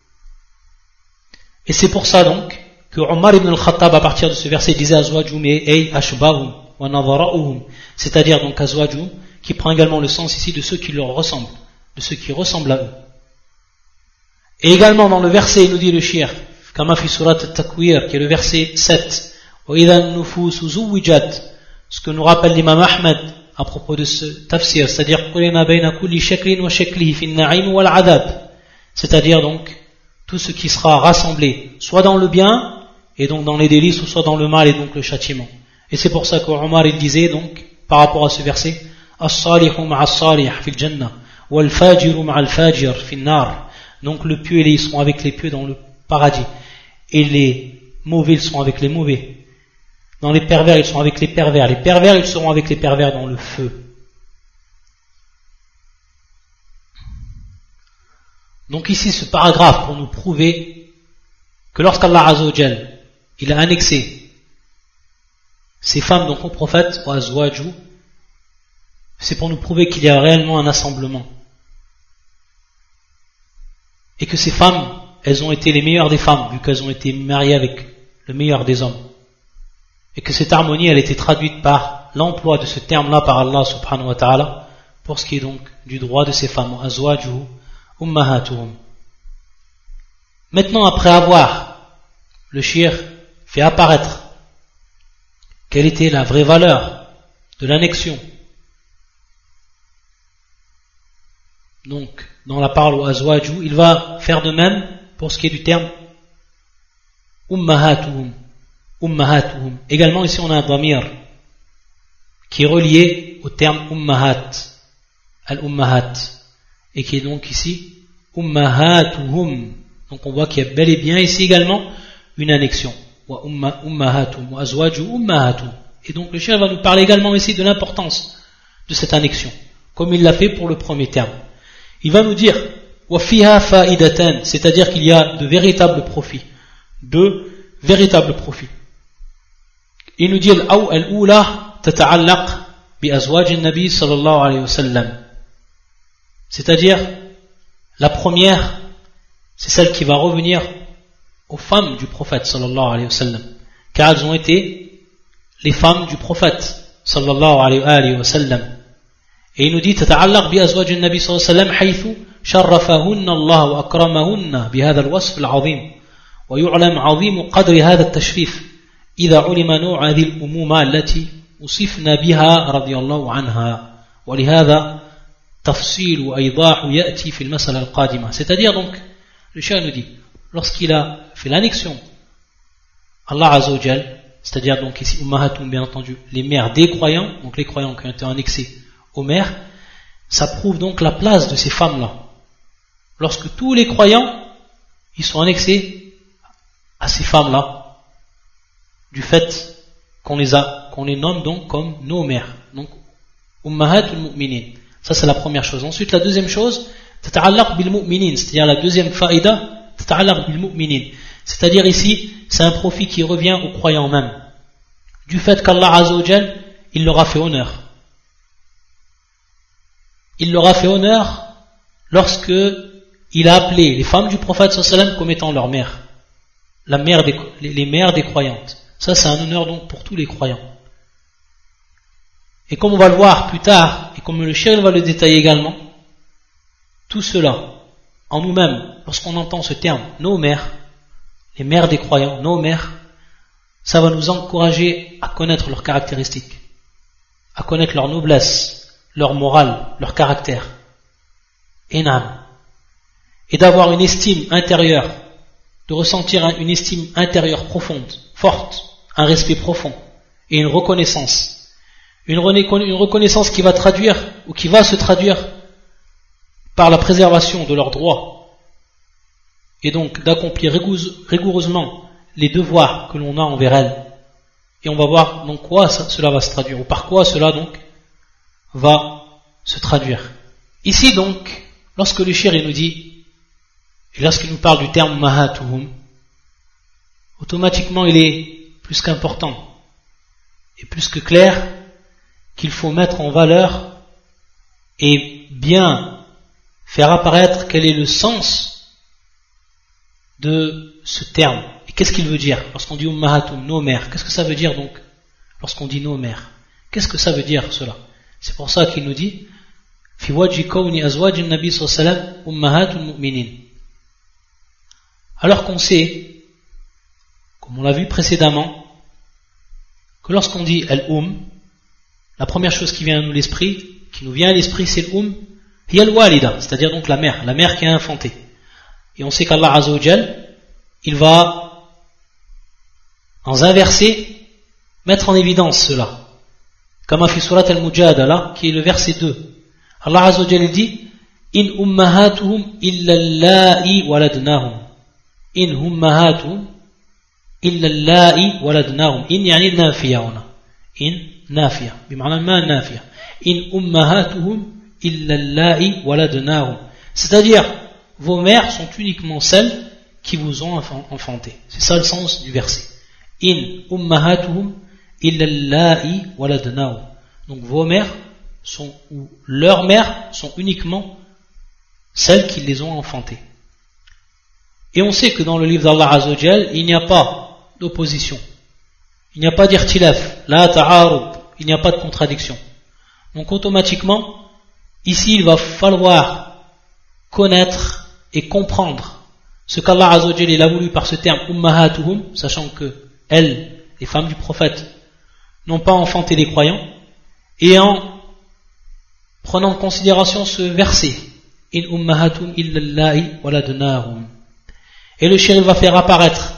Et c'est pour ça donc que Omar ibn al-Khattab à partir de ce verset disait azwajum ay ashbahum wa nadara'uhum, c'est-à-dire donc azwajum qui prend également le sens ici de ceux qui leur ressemblent, de ceux qui ressemblent à eux. Et également dans le verset il nous dit le shir kama fi surat at-Takwir qui est le verset sept, wa idha an-nufusu zuwijat, ce que nous rappelle l'imam Ahmed à propos de ce tafsir, c'est-à-dire qulina bayna kulli shaklin wa shaklihi fi an-na'im wal 'adab, c'est-à-dire donc tout ce qui sera rassemblé soit dans le bien et donc dans les délices, ou soit dans le mal et donc le châtiment. Et c'est pour ça qu'Omar il disait donc par rapport à ce verset as-salihu ma'a as-salih fil jannah wal fajiru ma'a al-fajir fin nar. Donc le pieux ils seront avec les pieux dans le paradis et les mauvais ils seront avec les mauvais. Dans les pervers ils seront avec les pervers, les pervers ils seront avec les pervers dans le feu. Donc ici ce paragraphe pour nous prouver que lorsqu'Allah Azza wa Jal il a annexé ces femmes donc au prophète wa azwaju, c'est pour nous prouver qu'il y a réellement un assemblement. Et que ces femmes, elles ont été les meilleures des femmes, vu qu'elles ont été mariées avec le meilleur des hommes. Et que cette harmonie, elle a été traduite par l'emploi de ce terme-là par Allah subhanahu wa ta'ala, pour ce qui est donc du droit de ces femmes, azwajuhu ummahatuhum. Maintenant, après avoir le shir fait apparaître quelle était la vraie valeur de l'annexion, donc dans la parole au azwaju, il va faire de même pour ce qui est du terme ummahatuhum, ummahatuhum. Également ici on a un damir qui est relié au terme ummahat, al-ummahat, et qui est donc ici ummahatuhum. Donc on voit qu'il y a bel et bien ici également une annexion. Wa ummahatuhum wa azwaju ummahatuhum. Et donc le cheikh va nous parler également ici de l'importance de cette annexion, comme il l'a fait pour le premier terme. Il va nous dire wa fiha fa'idatan, c'est-à-dire qu'il y a de véritables profits, de véritables profits. Il nous dit al-ula tata'allaq bi azwaj an-nabi sallallahu alayhi wa sallam, c'est-à-dire la première, c'est celle qui va revenir aux femmes du prophète sallallahu alayhi wa sallam, car elles ont été les femmes du prophète sallallahu alayhi wa sallam. Et il nous dit تتعلق بأزواج النبي صلى الله عليه وسلم حيث شرفهن الله وأكرمهن بهذا الوصف العظيم ويعلم عظيم قدر هذا التشريف إذا علم نوع هذه الأمومة التي وصفنا بها رضي الله عنها ولهذا تفصيل وإيضاح يأتي في المسألة القادمة. C'est-à-dire donc le cheikh nous dit, lorsqu'il a fait l'annexion, Allah Azza wa Jal, c'est-à-dire donc ici Ummahatum, bien entendu, les mères des croyants, donc les croyants qui ont été annexés aux mères, ça prouve donc la place de ces femmes-là. Lorsque tous les croyants, ils sont annexés à ces femmes-là, du fait qu'on les a, qu'on les nomme donc comme nos mères, donc Ummahatul Mu'minin. Ça c'est la première chose. Ensuite la deuxième chose, tata'allaq bil mu'minin, c'est-à-dire la deuxième faïda, tata'allaq bil mu'minin. C'est-à-dire ici, c'est un profit qui revient aux croyants même, du fait qu'Allah Azza wa Jal, il leur a fait honneur. Il leur a fait honneur lorsque il a appelé les femmes du prophète sallallahu alayhi wa sallam comme étant leur mère, la mère des, les mères des croyantes. Ça c'est un honneur donc pour tous les croyants. Et comme on va le voir plus tard, et comme le cheikh va le détailler également, tout cela, en nous-mêmes, lorsqu'on entend ce terme, nos mères, les mères des croyants, nos mères, ça va nous encourager à connaître leurs caractéristiques, à connaître leur noblesse, leur morale, leur caractère, et et d'avoir une estime intérieure, de ressentir une estime intérieure profonde, forte, un respect profond, et une reconnaissance, une, une reconnaissance qui va traduire, ou qui va se traduire par la préservation de leurs droits, et donc d'accomplir rigoureusement les devoirs que l'on a envers elles. Et on va voir donc quoi ça, cela va se traduire, ou par quoi cela donc va se traduire. Ici donc, lorsque le shir nous dit, et lorsqu'il nous parle du terme mahatuhum, automatiquement il est plus qu'important et plus que clair qu'il faut mettre en valeur et bien faire apparaître quel est le sens de ce terme. Et qu'est-ce qu'il veut dire lorsqu'on dit ummahatum, nos mères? Qu'est-ce que ça veut dire donc lorsqu'on dit nos mères? Qu'est-ce que ça veut dire cela? C'est pour ça qu'il nous dit fi wajhi kawni azwaj an-nabi sallallahu alayhi wa sallam ummahatul mu'minin. Alors qu'on sait, comme on l'a vu précédemment, que lorsqu'on dit al-um, la première chose qui vient à nous l'esprit, qui nous vient à l'esprit, c'est l'um, hiya al-walida, c'est-à-dire donc la mère, la mère qui a infanté. Et on sait qu'Allah Azza wa Jal, il va en inverser, mettre en évidence cela. Comme fi surat al-Mujadala, qui est le verset deux. Allah Azza wa Jalla dit in ummahatuhum illa allahi waladnahum. In ummahatuhum illa allahi waladnahum. In yani nafiya huna. In nafiya. Bima'na ma nafiya. In ummahatuhum illa allahi waladnahum. C'est-à-dire, vos mères sont uniquement celles qui vous ont enfanté. C'est ça le sens du verset. In ummahatuhum illa allahi waladnahum. Donc vos mères sont, ou leurs mères sont uniquement celles qui les ont enfantées. Et on sait que dans le livre d'Allah Azza wa Jal, il n'y a pas d'opposition. Il n'y a pas d'irtilaf, la ta'arud, il n'y a pas de contradiction. Donc automatiquement, ici il va falloir connaître et comprendre ce qu'Allah Azza wa Jal il a voulu par ce terme ummahatuhum, sachant que elles, les femmes du prophète, n'ont pas enfanté les croyants, et en prenant en considération ce verset, in ummahatum illallahi waladnahum. Et le shérif va faire apparaître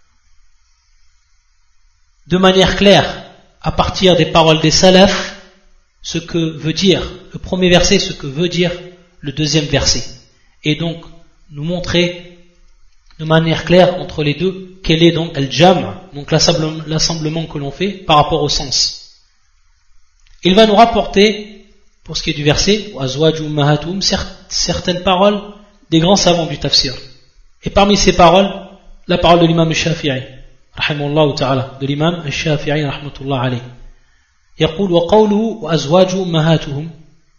de manière claire, à partir des paroles des salafs, ce que veut dire le premier verset, ce que veut dire le deuxième verset. Et donc, nous montrer de manière claire entre les deux, quel est donc al-jam', donc l'assemblement que l'on fait par rapport au sens. Il va nous rapporter, pour ce qui est du verset, azwaju ummahatum, certaines paroles des grands savants du tafsir. Et parmi ces paroles, la parole de l'imam Shafi'i, rahimahullah ta'ala, de l'imam Shafi'i, rahmatullah alayhi. يقول وقوله وأزواج أمهاتهم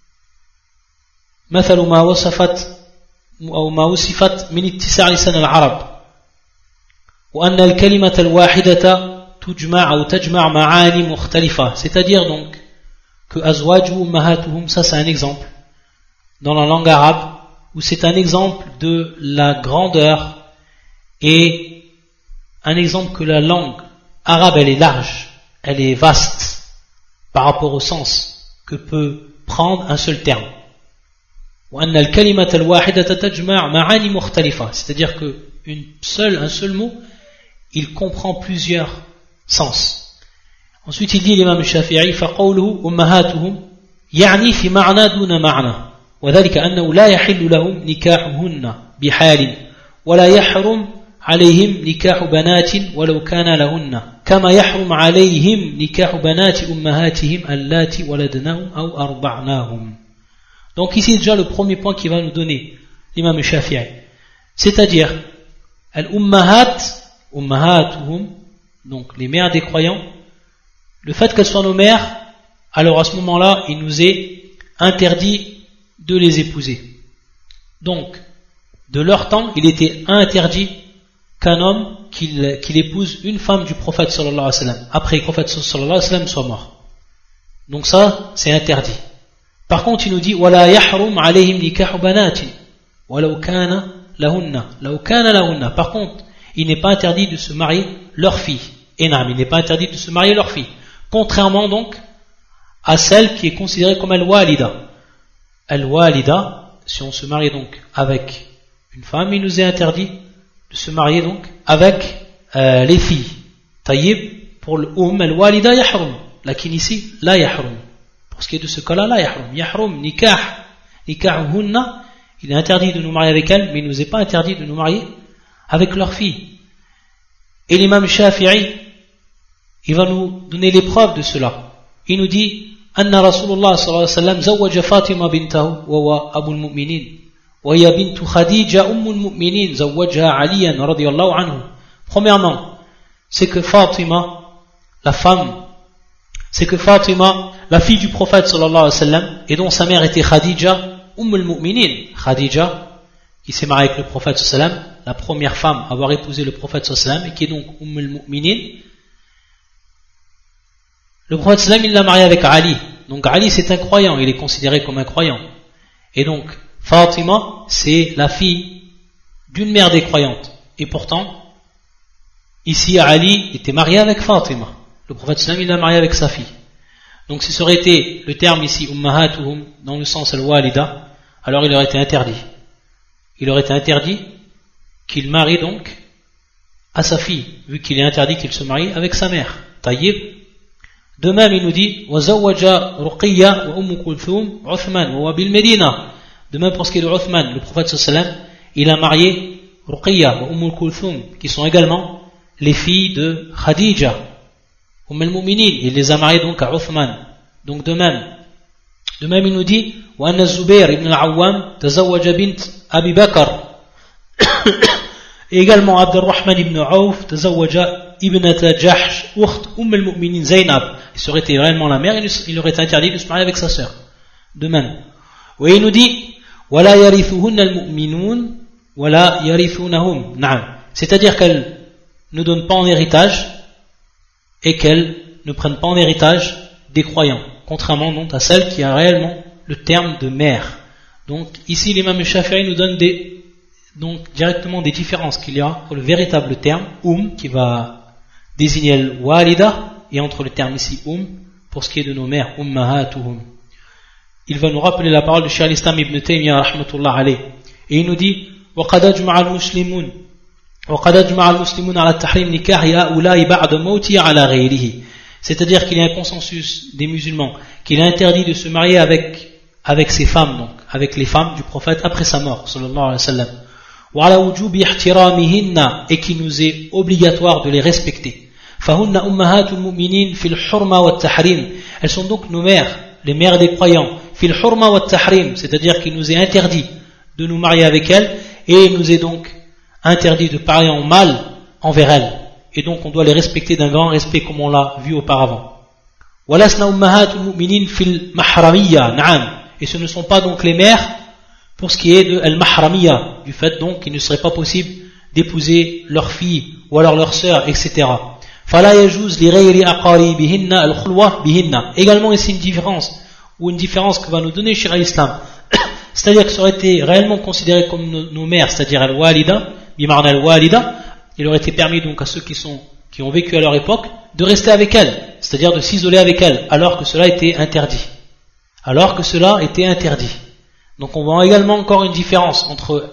مثل ما وصفت أو ما وصفت من اتساع لسان العرب وأن الكلمة الواحدة تجمع أو تجمع معاني مختلفة, c'est-à-dire donc que أزواج أمهاتهم, ça c'est un exemple dans la langue arabe, où c'est un exemple de la grandeur et un exemple que la langue arabe elle est large, elle est vaste par rapport au sens que peut prendre un seul terme. C'est-à-dire que une seule, un seul mot, il comprend plusieurs sens. Ensuite il dit l'imam Shafi'i فَقَوْلُهُ أُمَّهَاتُهُمْ يَعْنِي فِي مَعْنَى دُونَ مَعْنَى وذلك أنه لا يحل لهم نكاحهن بحال ولا يحرم عليهم نكاح بنات ولو كان لهن كما يحرم عليهم نكاح بنات أمهاتهم اللاتي ولدناهم أو أرضعناهم. Donc ici déjà le premier point qui va nous donner l'imam Shafi'i, c'est-à-dire al-ummahat, ummahatuhum, donc les mères des croyants, le fait qu'elles soient nos mères, alors à ce moment-là il nous est interdit de les épouser. Donc, de leur temps, il était interdit qu'un homme qu'il, qu'il épouse une femme du prophète sallallahu alayhi wa sallam, après que le prophète sallallahu alayhi wa sallam soit mort. Donc ça, c'est interdit. Par contre, il nous dit وَلَا يَحْرُمْ عَلَيْهِمْ نِكَاحُ بَنَاتٍ وَلَوْ كَانَ لَهُنَّ لَوْ كَانَ لَهُنَّ. Par contre, il n'est pas interdit de se marier leur fille. Énam, il n'est pas interdit de se marier leur fille. Contrairement donc à celle qui est considérée comme al-walida. Al-walida, si on se marie donc avec une femme, il nous est interdit de se marier donc avec euh, les filles. Taïb, pour le um, al-walida yahrum. Lakin ici, la yahrum. Pour ce qui est de ce cas-là, la yahrum. Yahrum, nikah, nikahuhunna, il est interdit de nous marier avec elles, mais il nous est pas interdit de nous marier avec leurs filles. Et l'imam Shafi'i, il va nous donner les preuves de cela. Il nous dit أن رسول الله صلى الله عليه وسلم زوج فاطمة بنته وهو أبو المؤمنين وهي بنت خديجة أم المؤمنين زوجها عليا رضي الله عنه. Premièrement, c'est que Fatima, la femme, c'est que Fatima, la fille du prophète sallallahu alayhi wa sallam, et dont sa mère était Khadija, Umm al-Mu'minin, Khadija, qui s'est mariée avec le prophète sallallahu alayhi wa sallam, la première femme à avoir épousé le prophète sallallahu alayhi wa sallam, et qui est donc Umm al-Mu'minin. Le prophète sallam, il l'a marié avec Ali. Donc Ali c'est un croyant, il est considéré comme un croyant. Et donc Fatima c'est la fille d'une mère des croyantes. Et pourtant, ici Ali était marié avec Fatima. Le prophète sallam, il l'a marié avec sa fille. Donc si ça aurait été le terme ici ummahatuhum dans le sens al-walida, alors il aurait été interdit. Il aurait été interdit qu'il marie donc à sa fille, vu qu'il est interdit qu'il se marie avec sa mère. Taïb. De même, il nous dit وَزَوَّجَ رُقِيَّةَ وَأُمُّ كُلْثُومَ عُثْمَانَ وَهُوَ بِالْمَدِينَةِ. De même, pour ce qui est de Uthman, le prophète sallallahu alayhi wa sallam, il a marié Ruqiyya et Umm Kulthum, qui sont également les filles de Khadija, Umm al-Mu'minin. Il les a mariées donc à Uthman. Donc de même, de même, il nous dit وَأَنَّ الزُّبَيْرِ ibn al-Awwam تزوج بنت أبي بكر. Et également Abdurrahman ibn Auf تزوج ibnata Jahsh ukht Umm al-Mu'minin Zainab. Il serait été réellement la mère, il aurait été interdit de se marier avec sa sœur. de même. Oui, il nous dit وَلَا يَرِثُهُنَّ الْمُؤْمِنُونَ وَلَا يَرِثُونَهُمْ نعم. C'est-à-dire qu'elles ne donnent pas en héritage et qu'elles ne prennent pas en héritage des croyants, contrairement donc à celle qui a réellement le terme de mère. Donc ici l'imam Shafi'i nous donne des, donc directement des différences qu'il y a entre le véritable terme um qui va désigner le walida et entre le terme ici um pour ce qui est de nos mères ummahatuhum. Il va nous rappeler la parole de Cheikh al-Islam ibn Taymiyyah rahmatullah alayh et il nous dit وقد أجمع المسلمون وقد أجمع المسلمون على تحريم نكاح هؤلاء بعد موته على غيره. C'est-à-dire qu'il y a un consensus des musulmans qu'il est interdit de se marier avec avec ses femmes, donc avec les femmes du prophète après sa mort sallallahu alayhi wa sallam, وعلى وجوب احترامهن, et qu'il nous est obligatoire de les respecter. فهن أمهات المؤمنين في الحرمة والتحريم. Elles sont donc nos mères, les mères des croyants. في الحرمة والتحريم, c'est-à-dire qu'il nous est interdit de nous marier avec elles et il nous est donc interdit de parler en mal envers elles. Et donc on doit les respecter d'un grand respect comme on l'a vu auparavant. وَلَسْنَا أُمَّهَاتُ الْمُؤْمِنِينَ فِي الْمَحْرَمِيَّةِ نعم. Et ce ne sont pas donc les mères pour ce qui est de al-mahramiyya, du fait donc qu'il ne serait pas possible d'épouser leur fille ou alors leur sœur, et cetera. فَلَا يَجُوزُ لِغَيْرِ أَقَارِبِهِنَّ الْخُلْوَةُ بِهِنَّ. Également ici une différence, ou une différence que va nous donner Cheikh al-Islam. C'est-à-dire que ça aurait été réellement considéré comme nos, nos mères, c'est-à-dire al-walida, bimarna al-walida, il aurait été permis donc à ceux qui sont qui ont vécu à leur époque de rester avec elles, c'est-à-dire de s'isoler avec elles, alors que cela était interdit. Alors que cela était interdit. Donc on voit également encore une différence entre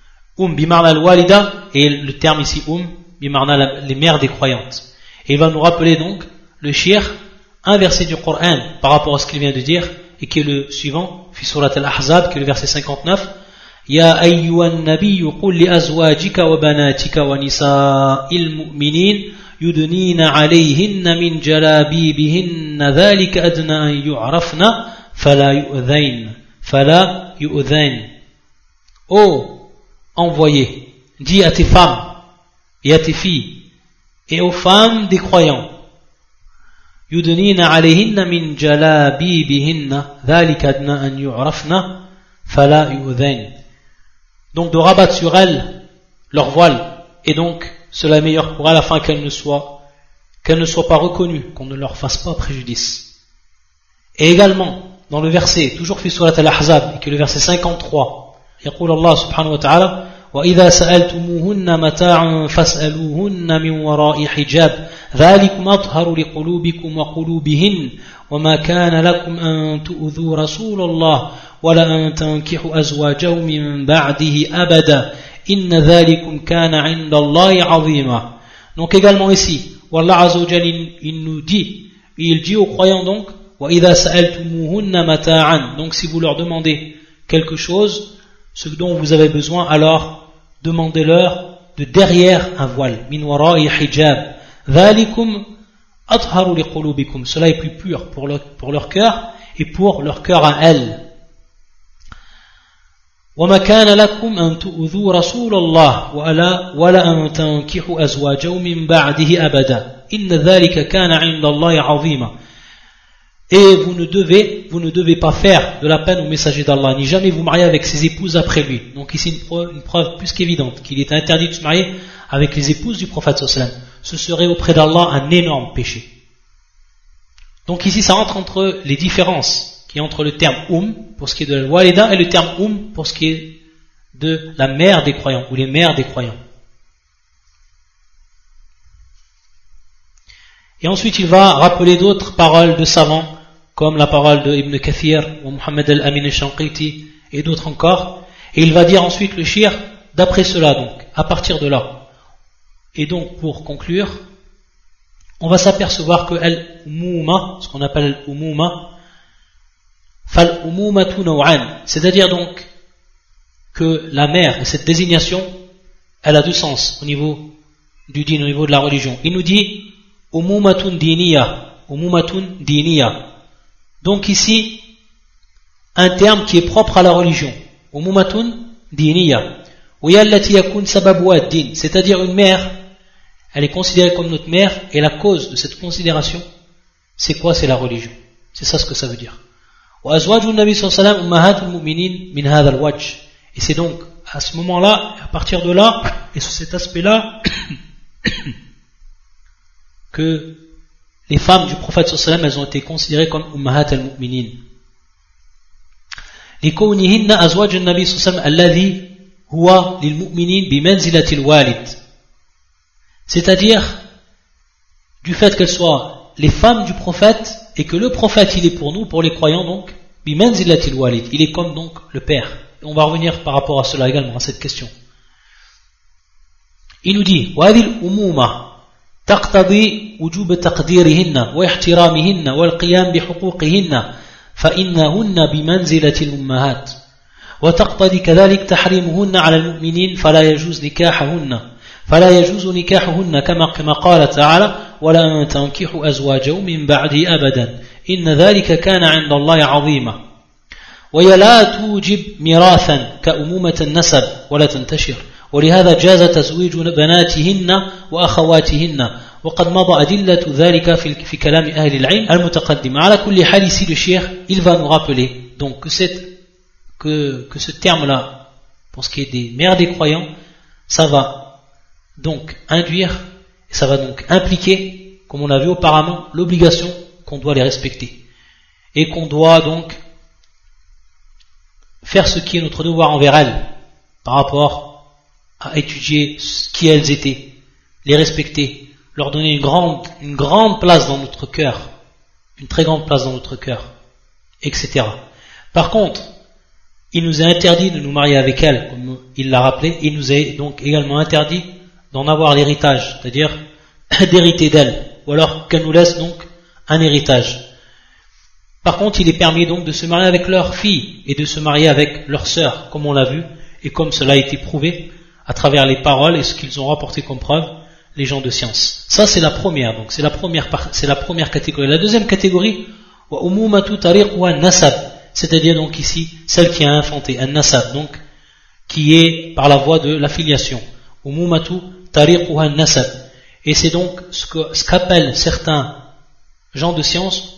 um bimarna al-walida et le terme ici um bimarna les mères des croyantes. Et il va nous rappeler donc le shir, un verset du Coran par rapport à ce qu'il vient de dire, et qui est le suivant, fi surat al-Ahzab, qui est le verset cinquante-neuf. Ya ayyuhan nabiyyu qul li azwajika wa banatika wa nisa'il mu'minin yudnina alayhinna min jalabibihinna dhalika adna an yu'rafna fala yu'dhayn fala yu'dhayn. Ô envoyé, dis à tes femmes et à tes filles et aux femmes des croyants, yudnina alayhinna min jalabibihinna dhalika adna an yu'rafna fala yu'dhayn. Donc de rabattre sur elles leur voile, et donc cela est meilleur pour elles afin qu'elles ne soient qu'elles ne soient pas reconnues, qu'on ne leur fasse pas préjudice. Et également dans le verset toujours fi surat al-Ahzab, qui est le verset cinquante-trois, يقول الله سبحانه وتعالى وإذا سألتموهن متاعا فاسألوهن من وراء حجاب ذلكم أطهر لقلوبكم وقلوبهن وما كان لكم أن تؤذوا رسول الله ولا أن تنكحوا أزواجه من بعده أبدا إن ذلكم كان عند الله عظيما. Donc également ici, Wallah Azza wa Jalla il nous dit, il dit aux croyants donc, وإذا سألتموهن متاعا, donc si vous leur demandez quelque chose, ce dont vous avez besoin, alors demandez-leur de derrière un voile. Min wara'i hijab. Dhalikum atharu liqulubikum. Cela est plus pur pour leur, pour leur cœur et pour leur cœur à elles. وما كان لكم أن تؤذوا رسول الله ولا ولا أن تنكحوا أزواجه من بعده أبدا إن ذلك كان عند الله عظيما. Et vous ne devez, vous ne devez pas faire de la peine au messager d'Allah, ni jamais vous marier avec ses épouses après lui. Donc ici une preuve, une preuve plus qu'évidente qu'il est interdit de se marier avec les épouses du prophète sallallahu alayhi wa sallam. Ce serait auprès d'Allah un énorme péché. Donc ici ça entre entre les différences qui est entre le terme um pour ce qui est de la walida et le terme um pour ce qui est de la mère des croyants ou les mères des croyants. Et ensuite il va rappeler d'autres paroles de savants comme la parole de Ibn Kathir ou Muhammad al-Amin al-Shanqiti et d'autres encore. Et il va dire ensuite le shir d'après cela, donc à partir de là. Et donc pour conclure, on va s'apercevoir que al-umuma, ce qu'on appelle al-umuma, fal-umumatu naw'an, c'est-à-dire donc que la mère et cette désignation, elle a deux sens au niveau du din, au niveau de la religion. Il nous dit umumatun diniya, umumatun diniya. Donc ici, un terme qui est propre à la religion. Umumatun diniya. C'est-à-dire une mère, elle est considérée comme notre mère, et la cause de cette considération, c'est quoi? C'est la religion. C'est ça ce que ça veut dire. وأزواج النبي صلى الله عليه وسلم أمهات المؤمنين من هذا الوجه. Et c'est donc à ce moment-là, à partir de là, et sur cet aspect-là, que les femmes du prophète sallallahu alayhi wa sallam, elles ont été considérées comme ummahat al-mu'minin. لكونهن أزواج النبي صلى الله عليه وسلم الذي هو للمؤمنين بمنزلة الوالد. C'est-à-dire du fait qu'elles soient les femmes du prophète et que le prophète il est pour nous, pour les croyants donc, بمنزلة الوالد, il est comme donc le père. Et on va revenir par rapport à cela également, à cette question. Il nous dit وهذه الأمومة تقتضي وجوب تقديرهن واحترامهن والقيام بحقوقهن فإنهن بمنزلة الأمهات وتقتضي كذلك تحريمهن على المؤمنين فلا يجوز نكاحهن فلا يجوز نكاحهن كما كما قال تعالى ولا تنكحوا أزواجه من بعده أبدا إن ذلك كان عند الله عظيما وهي لا توجب ميراثا كأمومة النسب ولا تنتشر ولهذا جاز تزويج بناتهن وأخواتهن وقد مضى أدلة ذلك في, في كلام أهل العلم المتقدم. على كل حال ici le cheikh il va nous rappeler donc que, cette, que, que ce terme là pour ce qui est des mères des croyants ça va donc induire et ça va donc impliquer comme on l'a vu auparavant l'obligation qu'on doit les respecter et qu'on doit donc faire ce qui est notre devoir envers elles par rapport à étudier qui elles étaient, les respecter, leur donner une grande, une grande place dans notre cœur, une très grande place dans notre cœur, et cetera. Par contre, il nous est interdit de nous marier avec elles, comme il l'a rappelé, il nous est donc également interdit d'en avoir l'héritage, c'est-à-dire d'hériter d'elles, ou alors qu'elles nous laissent donc un héritage. Par contre, il est permis donc de se marier avec leurs filles et de se marier avec leurs sœurs, comme on l'a vu, et comme cela a été prouvé à travers les paroles et ce qu'ils ont rapporté comme preuve, les gens de science. Ça c'est la première, donc c'est la première, c'est la première catégorie. La deuxième catégorie, c'est-à-dire donc ici, celle qui a infanté, un nasab, donc, qui est par la voie de l'affiliation. Et c'est donc ce, que, ce qu'appellent certains gens de science,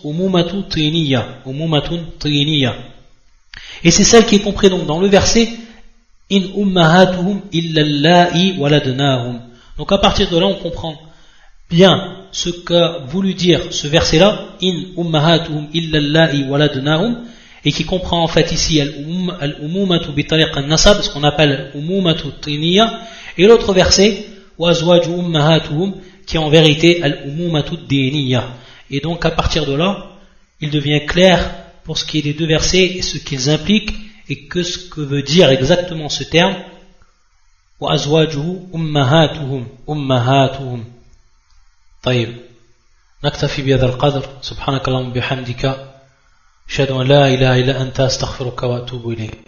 et c'est celle qui est comprise donc dans le verset, In ummahatuhum illa allahi waladnahum. Donc à partir de là on comprend bien ce qu'a voulu dire ce verset là, In ummahatuhum illa allahi waladnahum, et qui comprend en fait ici al-umumatu bi tariq an-nasab, ce qu'on appelle umumatu tiniya, et l'autre verset wa azwaju ummahatuhum, qui est en vérité al-umumatu diniya. Et donc à partir de là il devient clair pour ce qui est des deux versets et ce qu'ils impliquent et que ce que veut dire exactement ce terme wa azwajuhu ummahatuhum ummahatuhum. طيب نكتفي بهذا القدر سبحانك اللهم وبحمدك أشهد أن لا إله إلا أنت أستغفرك وأتوب إليك.